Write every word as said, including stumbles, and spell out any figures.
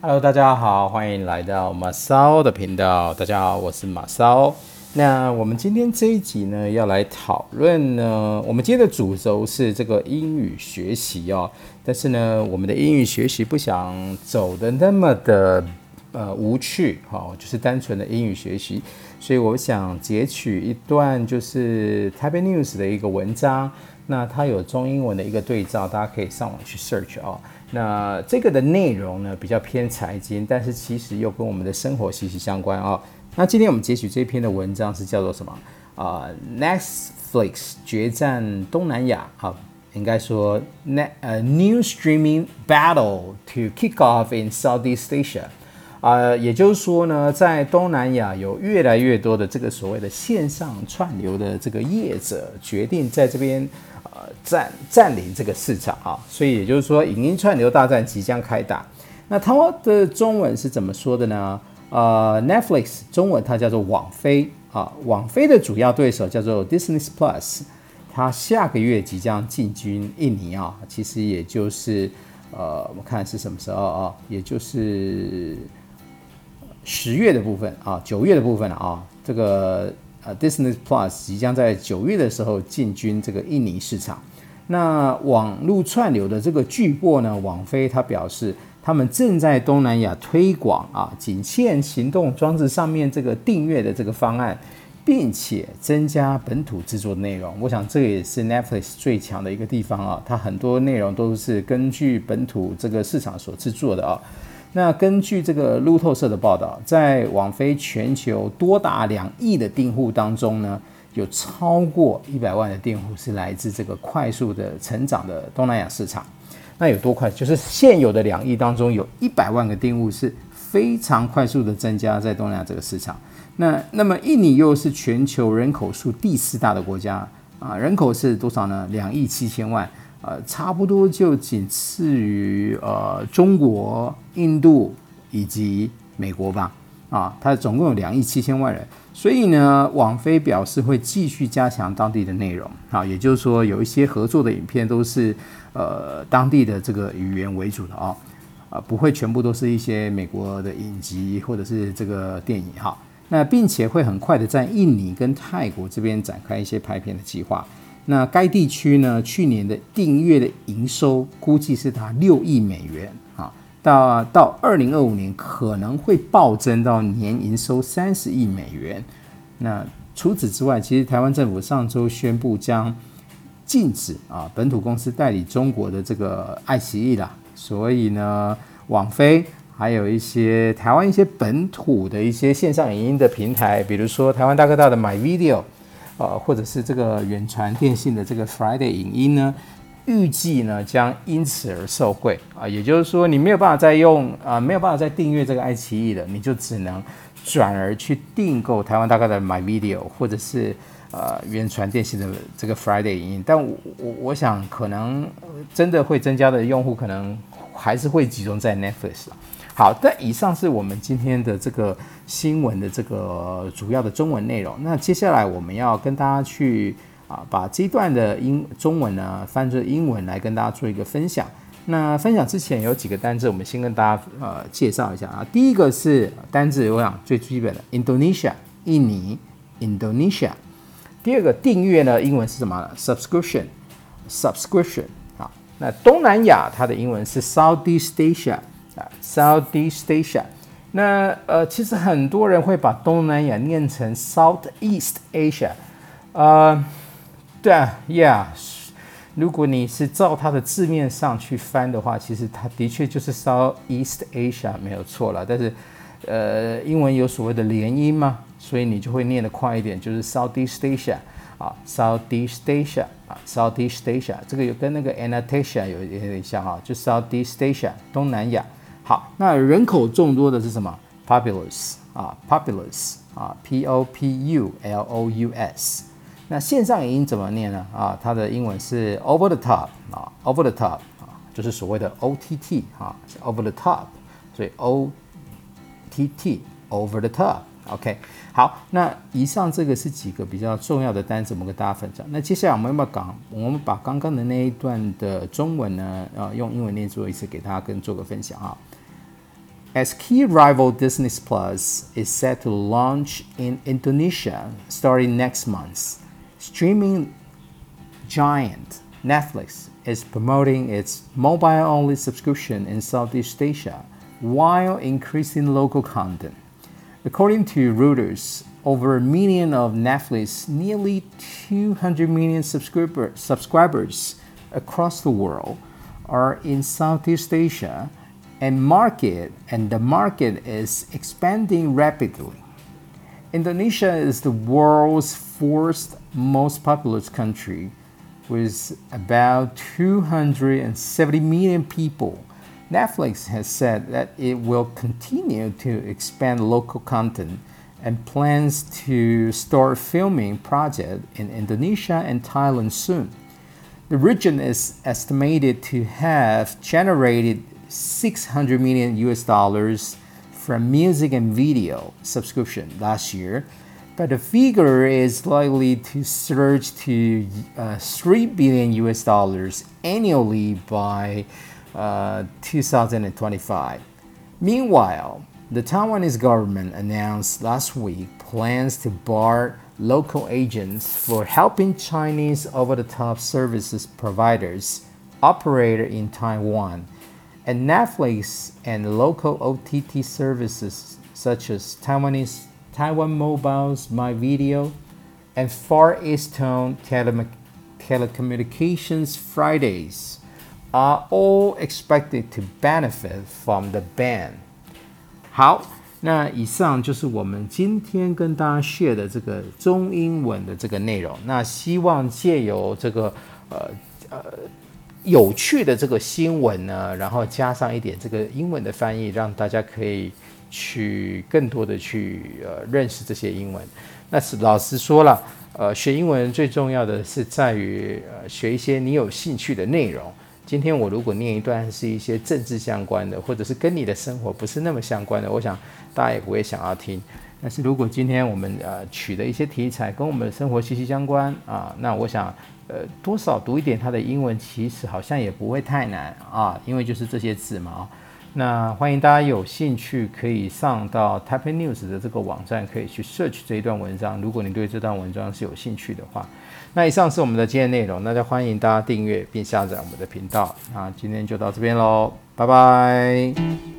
Hello，大家好，欢迎来到马骚的频道。大家好，我是马骚。那我们今天这一集呢，要来讨论呢，我们今天的主轴是这个英语学习哦。但是呢，我们的英语学习不想走的那么的呃无趣，哈、哦，就是单纯的英语学习。所以我想截取一段就是 Taipei News 的一个文章，那它有中英文的一个对照，大家可以上网去 search 哦。那这个的内容呢比较偏财经，但是其实又跟我们的生活息息相关哦。那今天我们截取这篇的文章是叫做什么啊、呃、？Netflix 决战东南亚啊，应该说 net 呃 new streaming battle to kick off in Southeast Asia。呃，也就是说呢，在东南亚有越来越多的这个所谓的线上串流的这个业者决定在这边呃占占领这个市场啊，所以也就是说，影音串流大战即将开打。那它的中文是怎么说的呢？呃 ，Netflix 中文它叫做网飞啊，网飞的主要对手叫做 Disney Plus， 它下个月即将进军印尼啊，其实也就是呃，我看是什么时候啊？也就是十月的部分啊，九月的部分啊，这个呃 Disney Plus 即将在九月的时候进军这个印尼市场。那网络串流的这个巨擘呢，网飞它表示，他们正在东南亚推广啊仅限行动装置上面这个订阅的这个方案，并且增加本土制作的内容。我想这个也是 Netflix 最强的一个地方啊，它很多内容都是根据本土这个市场所制作的啊。那根据这个路透社的报道，在网飞全球多达两亿的订户当中呢，有超过一百万的订户是来自这个快速的成长的东南亚市场。那有多快？就是现有的两亿当中，有一百万个订户是非常快速的增加在东南亚这个市场。那那么印尼又是全球人口数第四大的国家啊，人口是多少呢？两亿七千万。呃，差不多就仅次于呃中国、印度以及美国吧，啊，它总共有两亿七千万人，所以呢，网飞表示会继续加强当地的内容，啊，也就是说有一些合作的影片都是呃当地的这个语言为主的啊，啊，不会全部都是一些美国的影集或者是这个电影哈，那并且会很快的在印尼跟泰国这边展开一些拍片的计划。那该地区呢，去年的订阅的营收估计是达六亿美元啊，到到二零二五年可能会暴增到年营收三十亿美元。那除此之外，其实台湾政府上周宣布将禁止啊本土公司代理中国的这个爱奇艺啦，所以呢，网飞还有一些台湾一些本土的一些线上影音的平台，比如说台湾大哥大的 MyVideo。呃，或者是这个远传电信的这个 Friday 影音呢，预计呢将因此而受惠啊，也就是说你没有办法再用啊、呃，没有办法再订阅这个爱奇艺了，你就只能转而去订购台湾大哥的 MyVideo 或者是呃远传电信的这个 Friday 影音，但我我我想可能真的会增加的用户可能还是会集中在 Netflix 了。好，但以上是我们今天的这个新闻的这个主要的中文内容。那接下来我们要跟大家去啊，把这一段的英中文呢翻成英文来跟大家做一个分享。那分享之前有几个单字，我们先跟大家呃介绍一下啊。第一个是单字，我想最基本的 Indonesia， 印尼 Indonesia。第二个订阅呢，英文是什么呢 ？Subscription， Subscription 啊。那东南亚它的英文是 Southeast Asia。Southeast Asia， 那呃，其实很多人会把东南亚念成 Southeast Asia， 呃，对啊 ，Yeah， 如果你是照它的字面上去翻的话，其实它的确就是 Southeast Asia 没有错了，但是呃，英文有所谓的连音嘛，所以你就会念得快一点，就是 Southeast Asia 啊 ，Southeast Asia 啊 ，Southeast Asia， 这个有跟那个 Anastasia 有有点像啊，就 Southeast Asia 东南亚。好，那人口众多的是什么 ？Populous 啊 ，Populous 啊 ，P O P U L O U S。那线上影音怎么念呢？啊，它的英文是 Over the Top 啊 ，Over the Top 啊，就是所谓的 O T T 啊 ，Over the Top， 所以 O T T Over the Top。OK， 好，那以上这个是几个比较重要的单词，我们跟大家分享。那接下来我们要把我们把刚刚的那一段的中文呢，呃，用英文念做一次，给大家跟做个分享啊。 as key rival Disney Plus is set to launch in Indonesia starting next month. Streaming giant Netflix is promoting its mobile-only subscription in Southeast Asia while increasing local content. According to Reuters, over a million of Netflix, nearly two hundred million subscriber, subscribers across the world are in Southeast Asia, and market and the market is expanding rapidly. Indonesia is the world's fourth most populous country, with about two hundred seventy million people. Netflix has said that it will continue to expand local content and plans to start filming projects in Indonesia and Thailand soon. The region is estimated to have generated six hundred million U S dollars from music and video subscription last year, but the figure is likely to surge to uh, three billion U S dollars annually by uh, two thousand twenty-five. Meanwhile, the Taiwanese government announced last week plans to bar local agents for helping Chinese over-the-top services providers operate in Taiwan, and Netflix and local O T T services such as Taiwanese Taiwan Mobile's MyVideo and Far Eastern Tele- Telecommunications Fridays are all expected to benefit from the ban. 好，那以上就是我们今天跟大家 share 的这个中英文的这个内容。那希望借由这个呃呃有趣的这个新闻呢，然后加上一点这个英文的翻译，让大家可以去更多的去呃认识这些英文。那是老实说了，呃，学英文最重要的是在于呃学一些你有兴趣的内容。今天我如果念一段是一些政治相关的，或者是跟你的生活不是那么相关的，我想大家也不会想要听。但是如果今天我们呃取的一些题材跟我们的生活息息相关啊，那我想呃多少读一点它的英文，其实好像也不会太难啊，因为就是这些字嘛啊。那欢迎大家有兴趣可以上到 Taipei News 的这个网站，可以去 search 这一段文章。如果你对这段文章是有兴趣的话，那以上是我们的今天内容，那就欢迎大家订阅并下载我们的频道。那今天就到这边咯，拜拜。